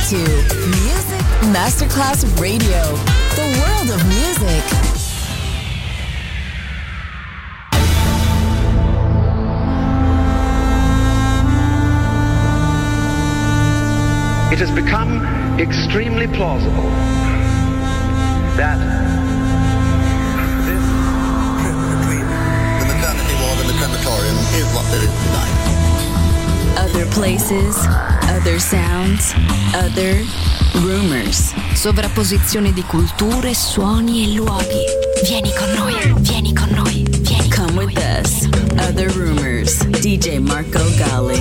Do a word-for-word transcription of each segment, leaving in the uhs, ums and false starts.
to Music Masterclass Radio, the world of music. It has become extremely plausible that this trip between the maternity ward and the crematorium is what there is tonight. Other places, other sounds, other rumors. Sovrapposizione di culture, suoni e luoghi. Vieni con noi, vieni con noi, vieni Come con with noi. us. Other rumors. D J Marco Gally.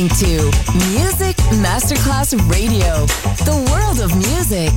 listening to Music Masterclass Radio, the world of music.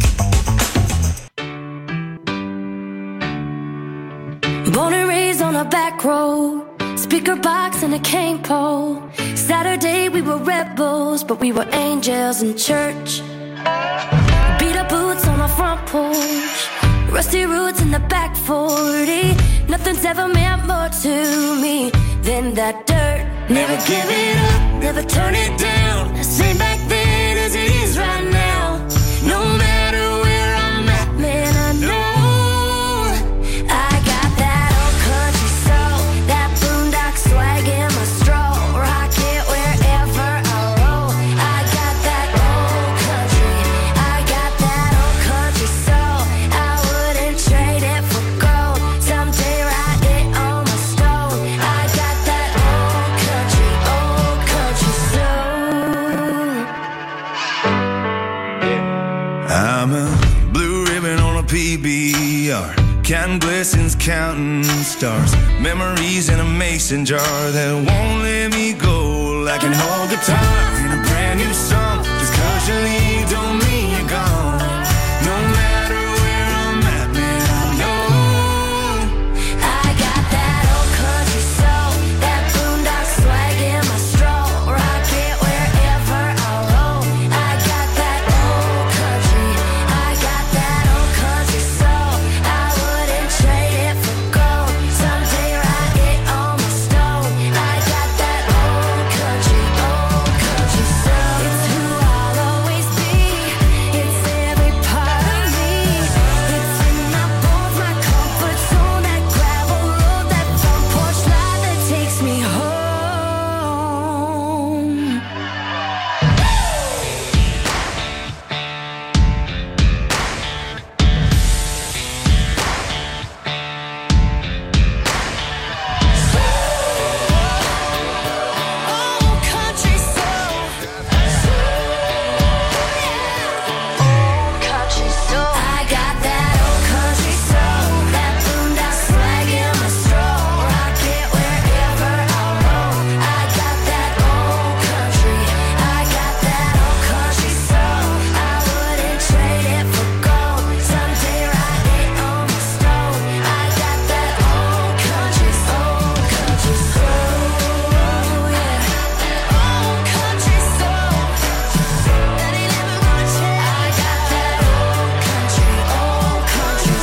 Born and raised on a back road, speaker box and a cane pole. Saturday we were rebels, but we were angels in church. Beat up boots on the front porch, rusty roots in the back forty. Nothing's ever meant more to me than that dirt. Never give it up, never turn it down. Same back then as it is right now. No matter where I'm at, man, I know I got that old country soul, that boondock swag in my stroll. Rock it wherever I roll. I got that old country, I got that old country soul. I wouldn't trade it for gold. Someday write it on my stone. I got that old country, old country soul. I'm a blue ribbon on a P B R, counting blessings, counting stars, memories in a mason jar that won't let me go. Like an old guitar in a brand new song. Just cause you leave don't mean you're gone. No matter where I'm at, man, I know I got that old country soul, that boondock swag in my stroll. Rock it wherever I roll. I got that old country, I got that old country soul. I wouldn't trade it for gold. Someday write it on my stone. I got that old country, old country soul. It's who I'll always be. It's every part of me. It's in my bones, my comfort zone, that gravel road, that front porch light that takes me home. Old country soul. Old country soul. I got that old country soul, that boondock swag in my stroll. Rock it wherever I roll. I got that old country, I got that old country soul. I wouldn't trade it for gold. Someday write it on my stone. I got that old country, old country soul. Yeah, old country soul. That ain't never gonna change. I got that old country, old country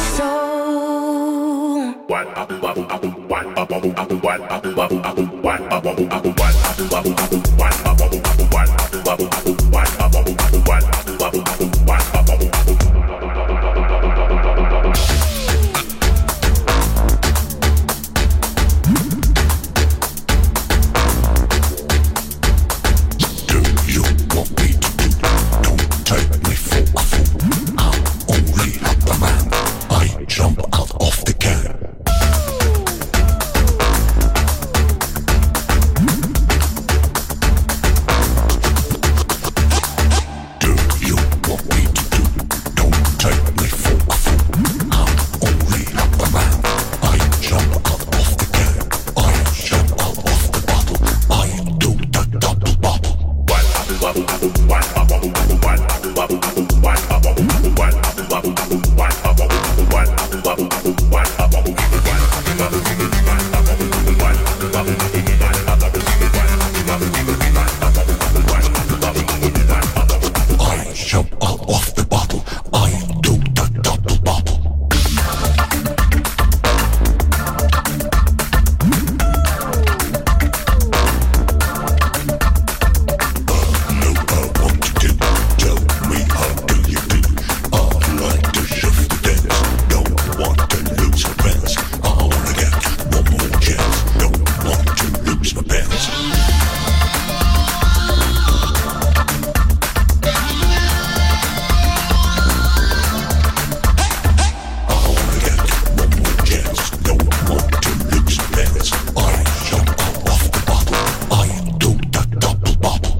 soul. Do you want me to do? Don't take me for a fool. I'm only a man. I jump out of the can. Do you want me to do? Don't take me for a fool. I'm only a man. I jump out of the can. I jump out of the bottle. I do the double bubble. I jump out of the bottle. I do the double bubble. Know I want to do. Tell me how do you do? I like to shift the dance. Don't want to lose my pants. I wanna get one more chance. Don't want to lose my pants. I wanna get one more chance. Don't want to lose my pants. I jump out of the bottle. I do the double bubble.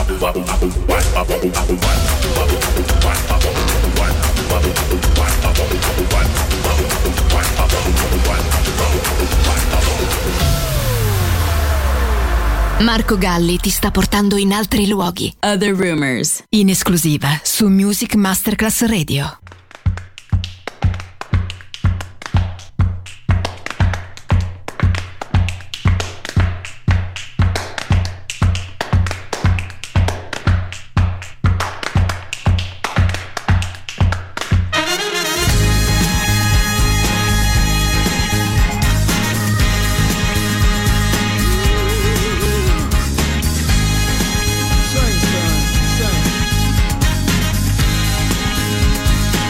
Marco Galli ti sta portando in altri luoghi. Other Rumors. In esclusiva su Music Masterclass Radio. Son, son, son.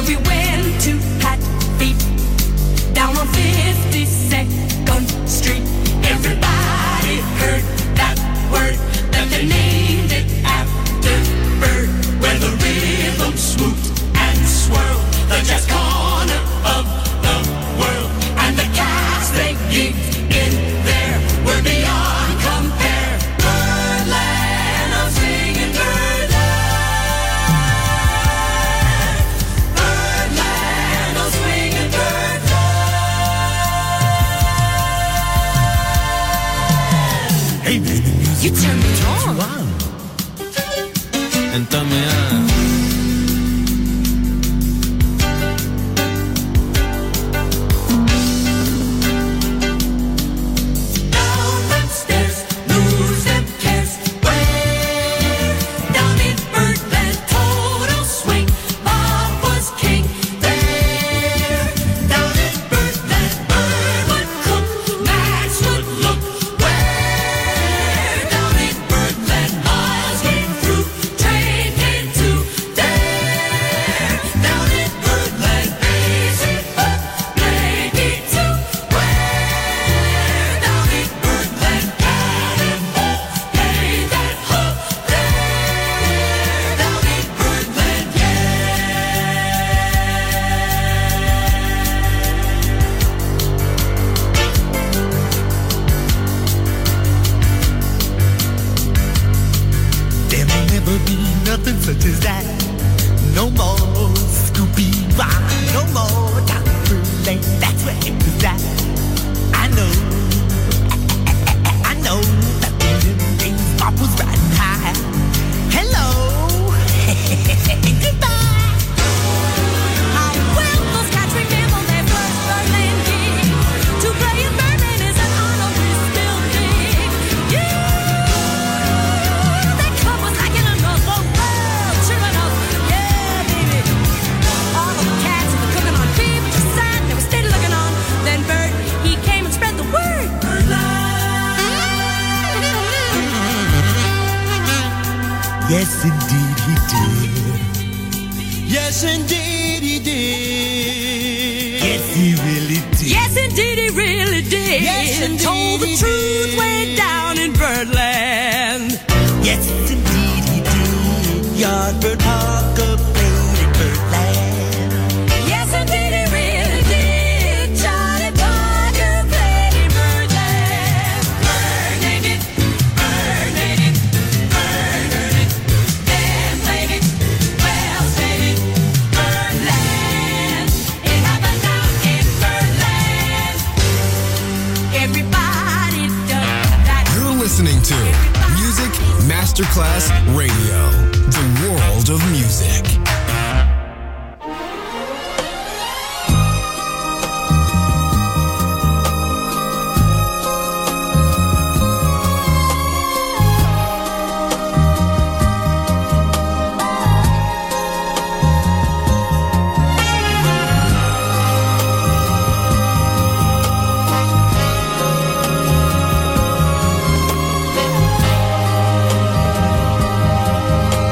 we went to Hatfield, down on fifty-second Street. Everybody heard that word, that they named it after Bird, where the rhythm swooped and swirled, the jazz corner of the world, and the cats they gigged in there were beyond compare. Birdland, I'm singing Birdland. Birdland, I'm swinging Birdland. Hey baby, You turn me on. and turn me on. Down them stairs, lose them cares. Where? Down in Birdland, total swing. Bob was king there. Down in Birdland, Bird would cook, Max would look. Where? Down in Birdland, miles came through, train came to there. Down in Birdland, easy up, maybe two. Where? Down in Birdland, Cannonball, play that hook there. Down in Birdland, There may never be nothing such as that. No more Scooby Rock, no more Doctor Lane. That's where it was at. I know, I know that in them days Bob was riding high. Hello, goodbye. How well those cats remember their first Birdland gig. To play in Birdland is an honor we still dig. Yeah, that club was like in another world. Sure enough, yeah, baby. All of the cats were cooking on beef, just sat, they were steady looking on. Then Bird, he came and spread the word. Yes, indeed he did. Yes, indeed he did. Yes, he really did. Yes, indeed, he really did. Yes, and told the indeed he truth did. way down in Birdland. Yes, indeed he did. Yardbird Parker played in Birdland. Yes, indeed, he really did. Charlie Parker played in Birdland. Bird named it, Bird named it, Bird earned it. Then played it, Wells played it. Birdland, it happened down in Birdland. Everybody does that. You're listening to Music Masterclass Radio, the world of music. Birdland.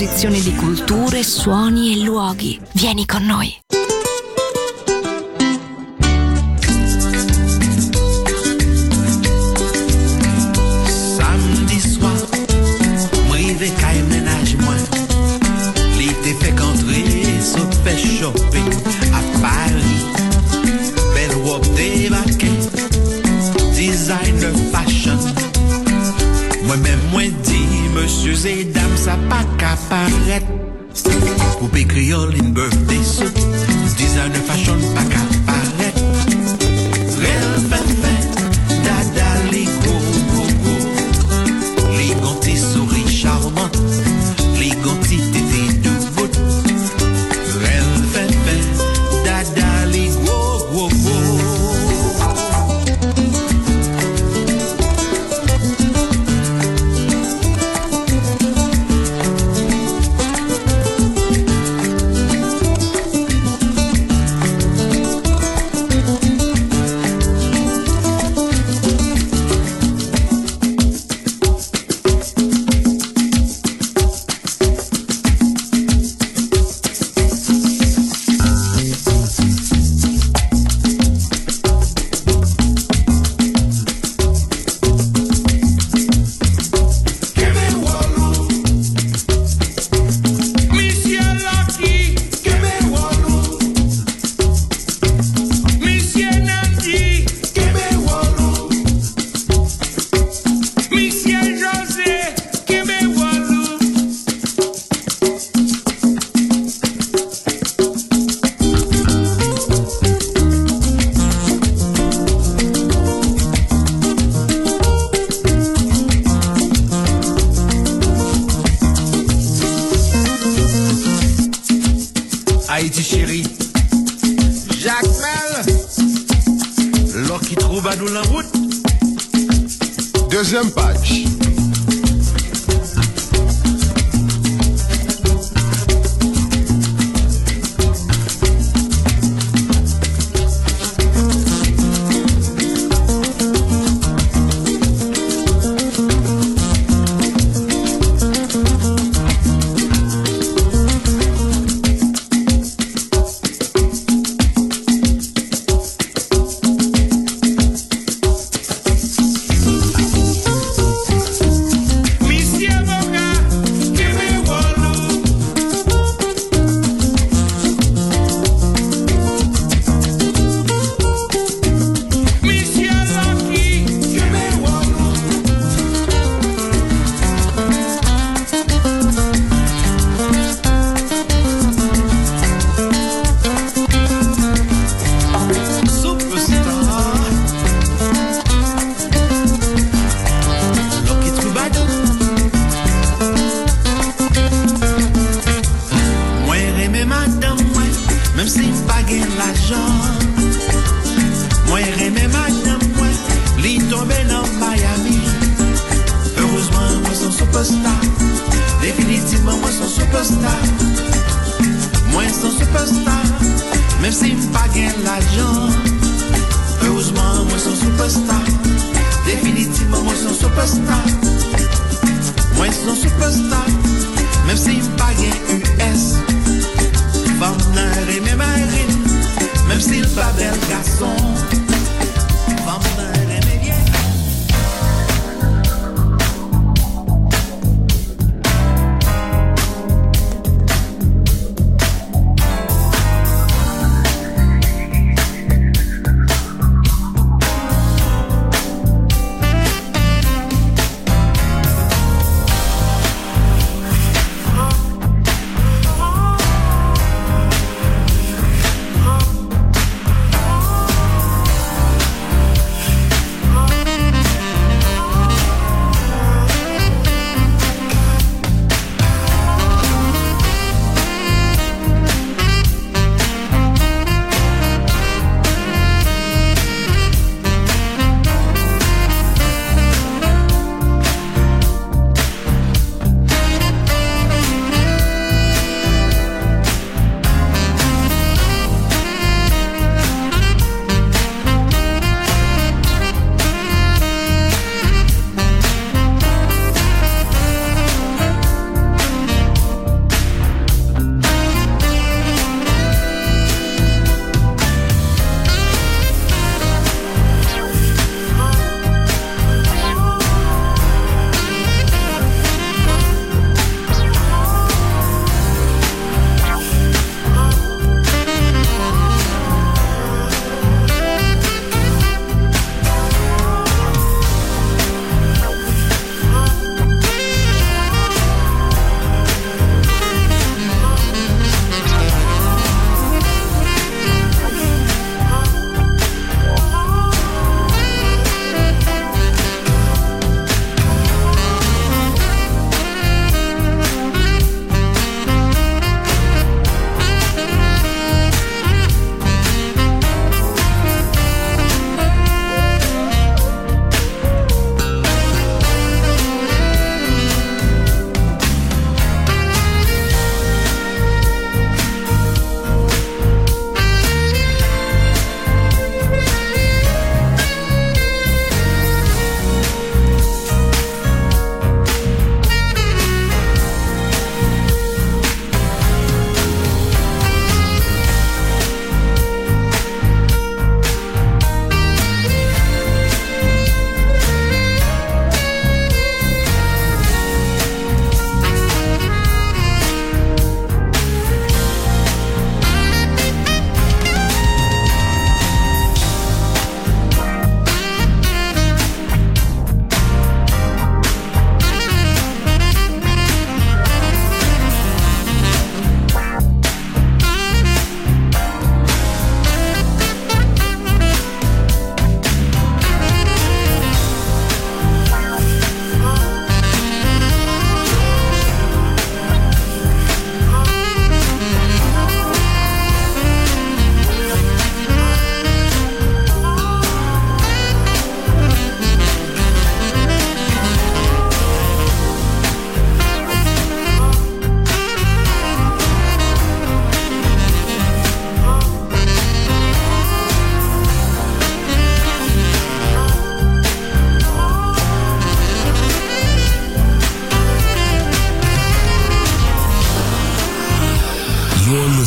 un'esposizione di culture, suoni e luoghi. Vieni con noi. Samedi soir, moi rive kay ménage moi. Li te fait qu'entrer so fait shopping à Paris. Belle robe de vacances, designer fashion. Moi-même, moi dit, monsieur et dames, ça pas qu'à paraître. Poupée créole, une birthday suit, designer fashion, pas qu'à paraître. Réel fait fait, dada, les gros, gros, gros. Les gantis souris charmantes, les gantis tétés de bout. Réel fait fait, dada, les gros, gros, gros. Haïti chérie, Jacques Mel, l'or qui trouve à nous la route. Deuxième page.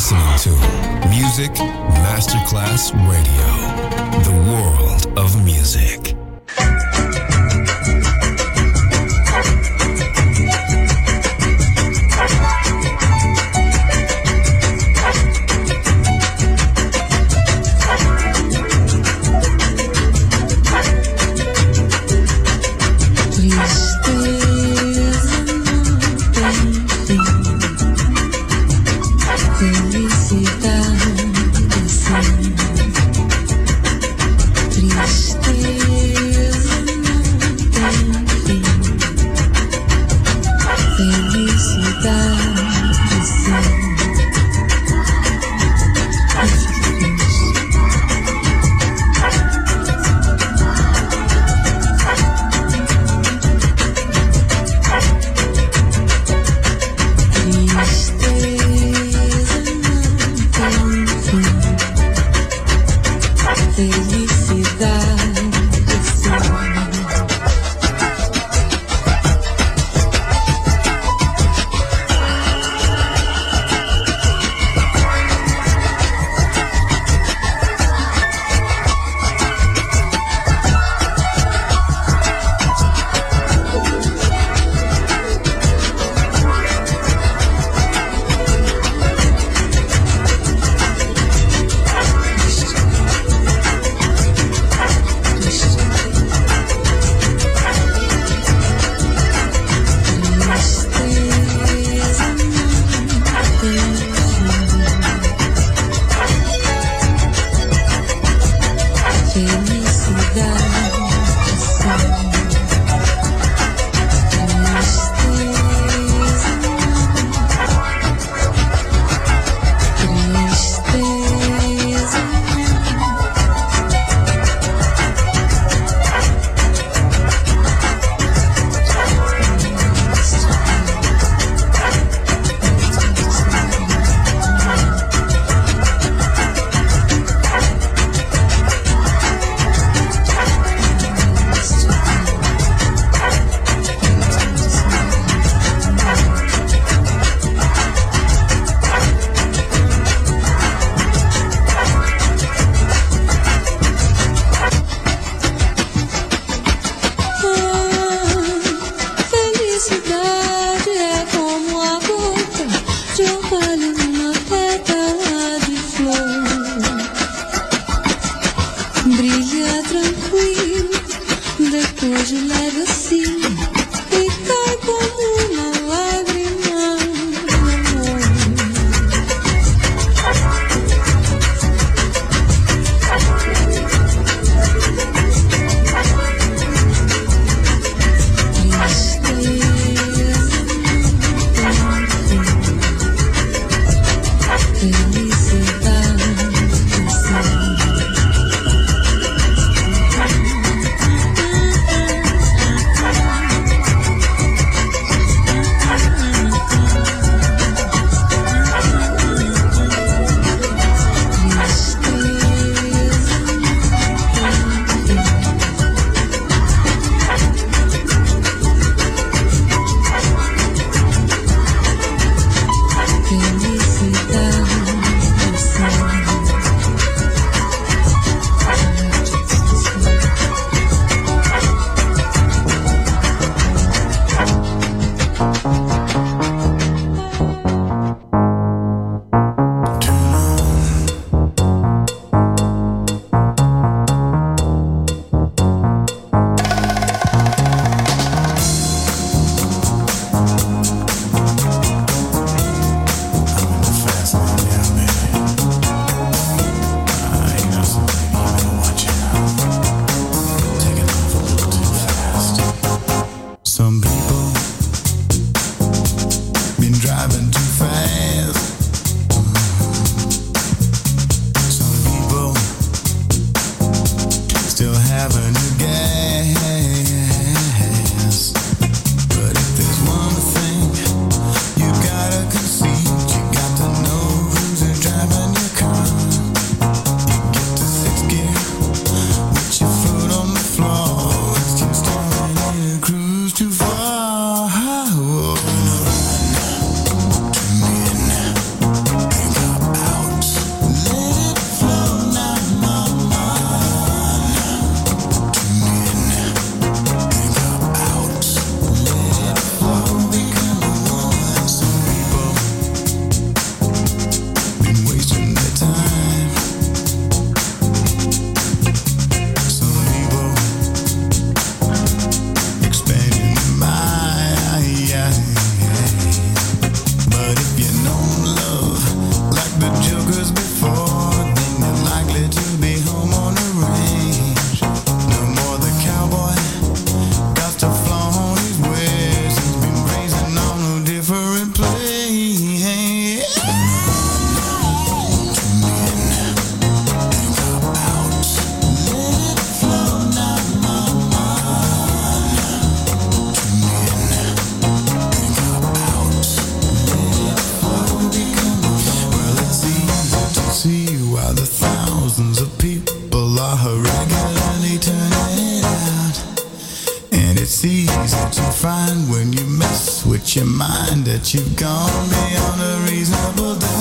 listening to Music Masterclass Radio, the world of music. find when you mess with your mind that you've gone beyond a reasonable doubt.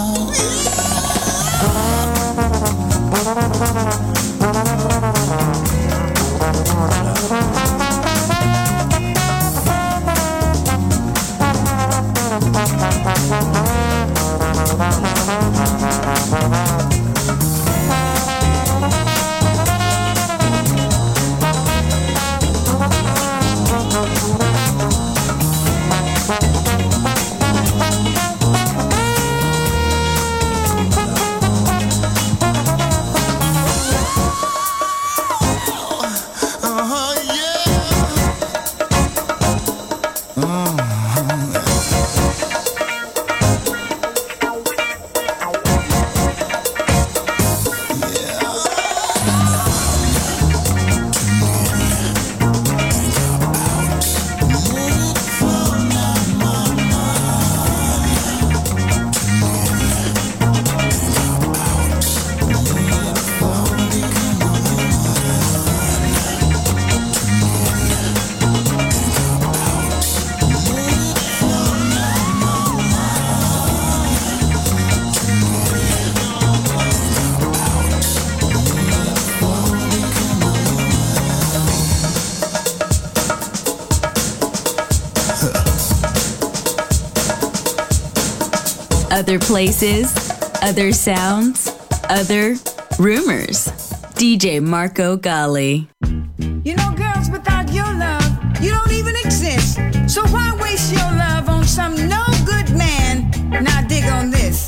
Other places, other sounds, other rumors. D J Marco Gally. You know, girls, without your love, you don't even exist. So why waste your love on some no good man? Now dig on this.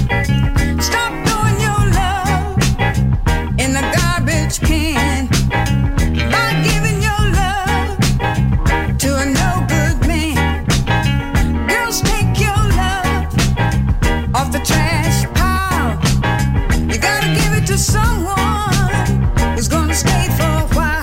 Stop throwing your love in the garbage can by giving your love to a no good man. Girls, take your love off the trash pile. You gotta give it to someone who's gonna stay for a while.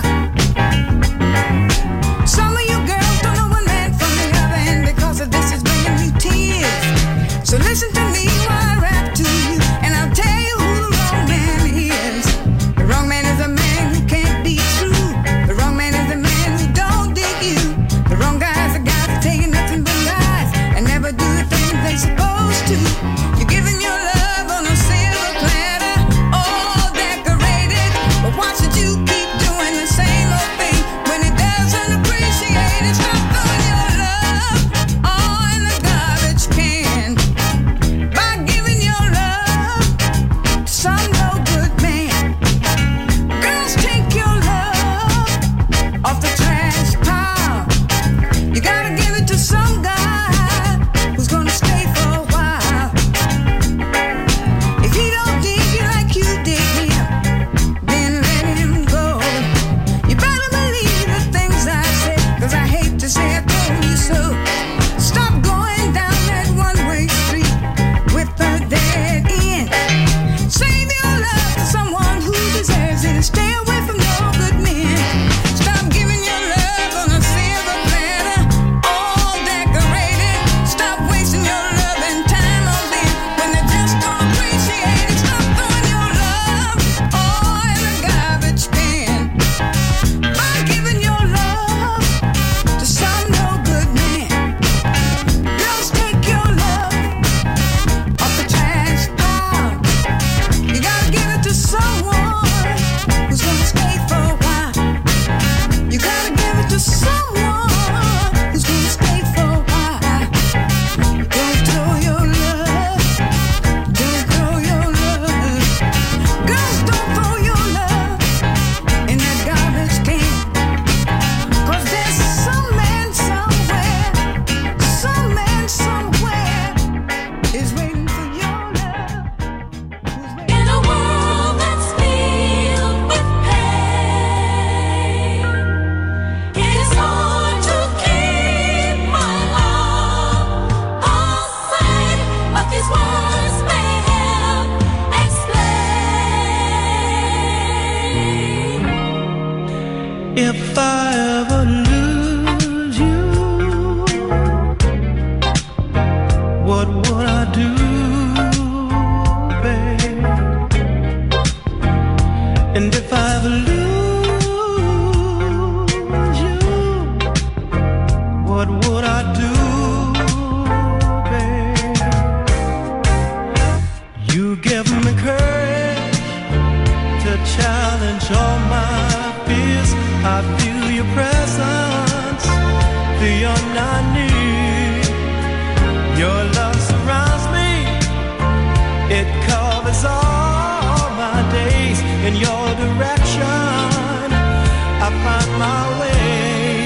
in your direction, I find my way.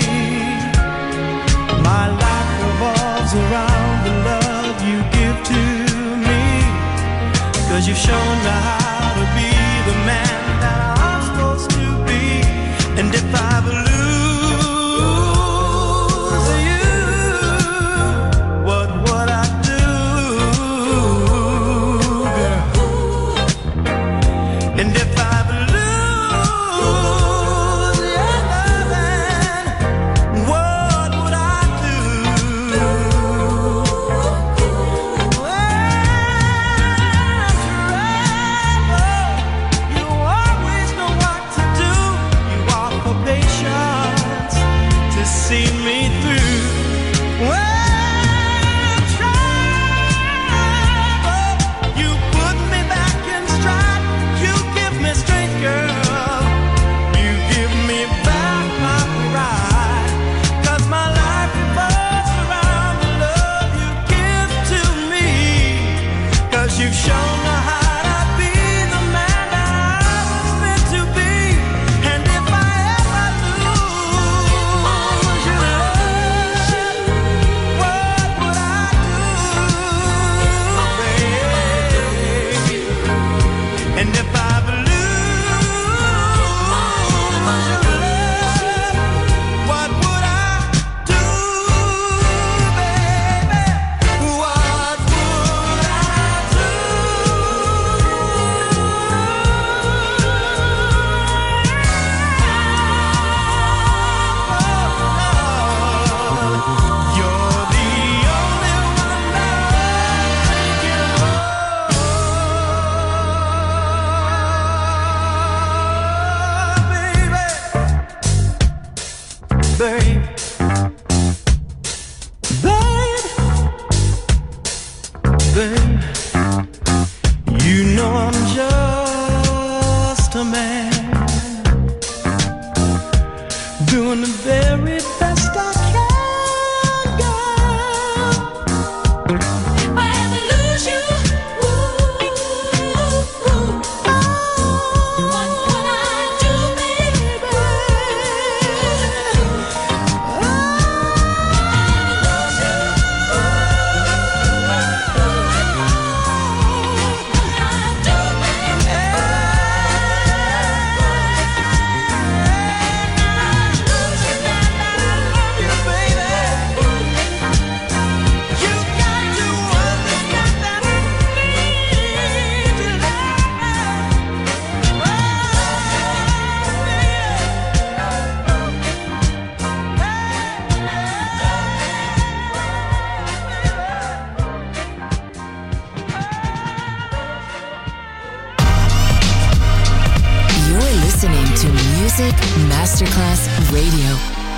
My life revolves around the love you give to me, 'cause you've shown me how to be the man that I'm supposed to be. And if I lose you, what would I do, girl? And if I lose your loving, what would I do? You always know what to do. You offer patience to see me through. When trouble, you put me back in stride. You give me strength, girl. You give me back my pride. 'Cause my life revolves around the love you give to me. 'Cause you've shown me how to be the man that I was meant to be. And if I ever lose your love, what would I do, baby? And if I what would I do, baby? What would I do? You're the only one that I can love, baby. Babe, babe, you know I'm just a man, doing the very best I can, girl. If I ever lose you, what would I do, baby? You're listening to Music Masterclass Radio.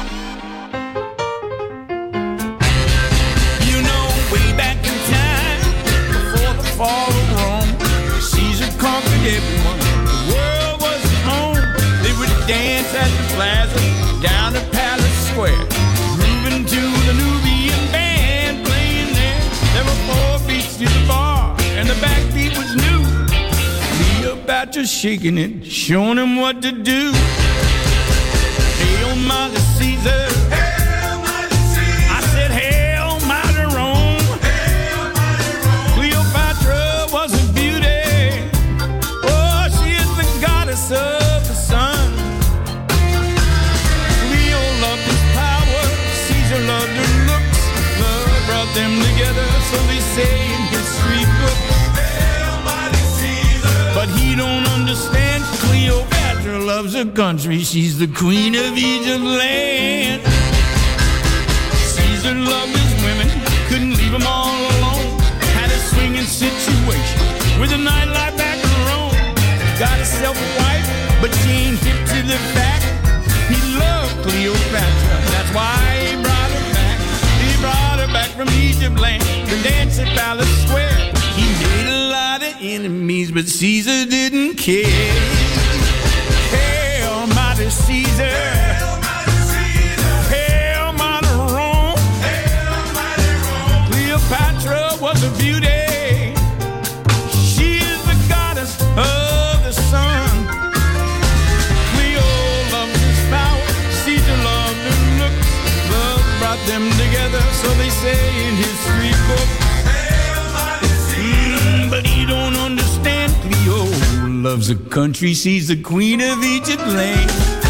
You know, way back in time, before the fall of Rome, Caesar conquered everyone. The world was his home. They would dance at the plaza, down the Palace Square, grooving to the Nubian band playing there. There were four beats to the bar, and the backbeat was new. Cleopatra shaking it, showing him what to do. Hail, Mother Caesar. Hail, Mother Caesar. I said, Hail, Mother Rome. Hail, Mother Rome. Cleopatra was a beauty. Oh, she is the goddess of the sun. Cleo loved his power. Caesar loved her looks. Love brought them together, so they say in history books. But he don't understand. Cleopatra loves her country. She's the queen of Egypt land. Caesar loved his women, couldn't leave them all alone. Had a swinging situation with a nightlife back in Rome. Got himself a wife, but she ain't hip to the fact. He loved Cleopatra, that's why he brought her back. He brought her back from Egypt land to dance at Palace Square. He made a lot of enemies, but Caesar didn't care. Hail, Mother Caesar. Hail, Mother Caesar. Hail, Mother Rome. Hail, Mother Rome. Cleopatra was a beauty. She is the goddess of the sun. say in history book. Mm, but he don't understand Cleo loves the country, she's the queen of Egypt land.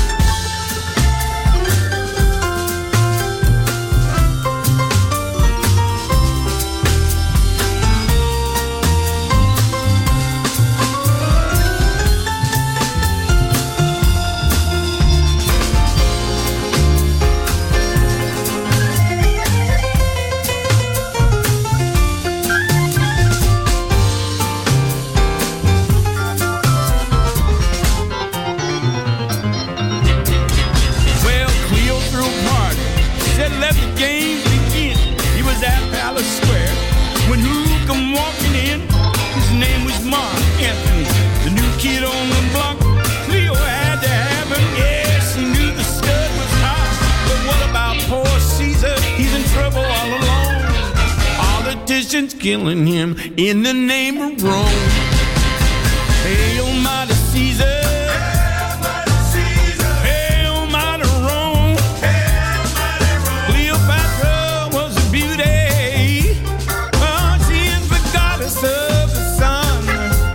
Killing him in the name of Rome. Hail, mighty Caesar. Hail, mighty Caesar. Hail, mighty Rome. Hail, mighty Rome. Cleopatra was a beauty. Oh, she is the goddess of the sun.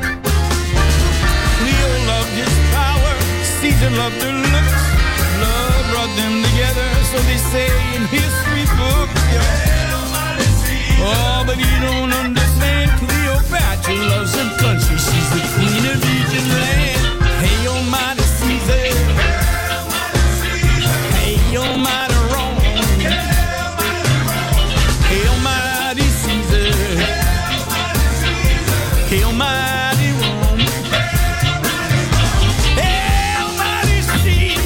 Cleo loved his power. Caesar loved her looks. Love brought them together, so they say in history books. Yeah. Oh, but you don't understand. Cleopatra loves her country. She's the queen of Egypt land. Hey, almighty Caesar. Hey, almighty Rome. Hey, almighty Caesar. Hey, almighty Rome. Hey, almighty Caesar.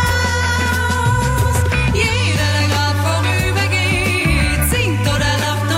Jeder, der grad vorübergeht, singt oder lacht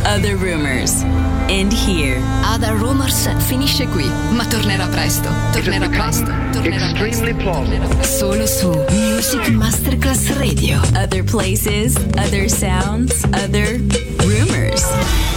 Other Rumors. End here. Other Rumors finisce qui, ma tornerà presto. Tornerà presto. Tornerà Extremely plausible. presto. Solo su Music Masterclass Radio. Other places, other sounds, other rumors.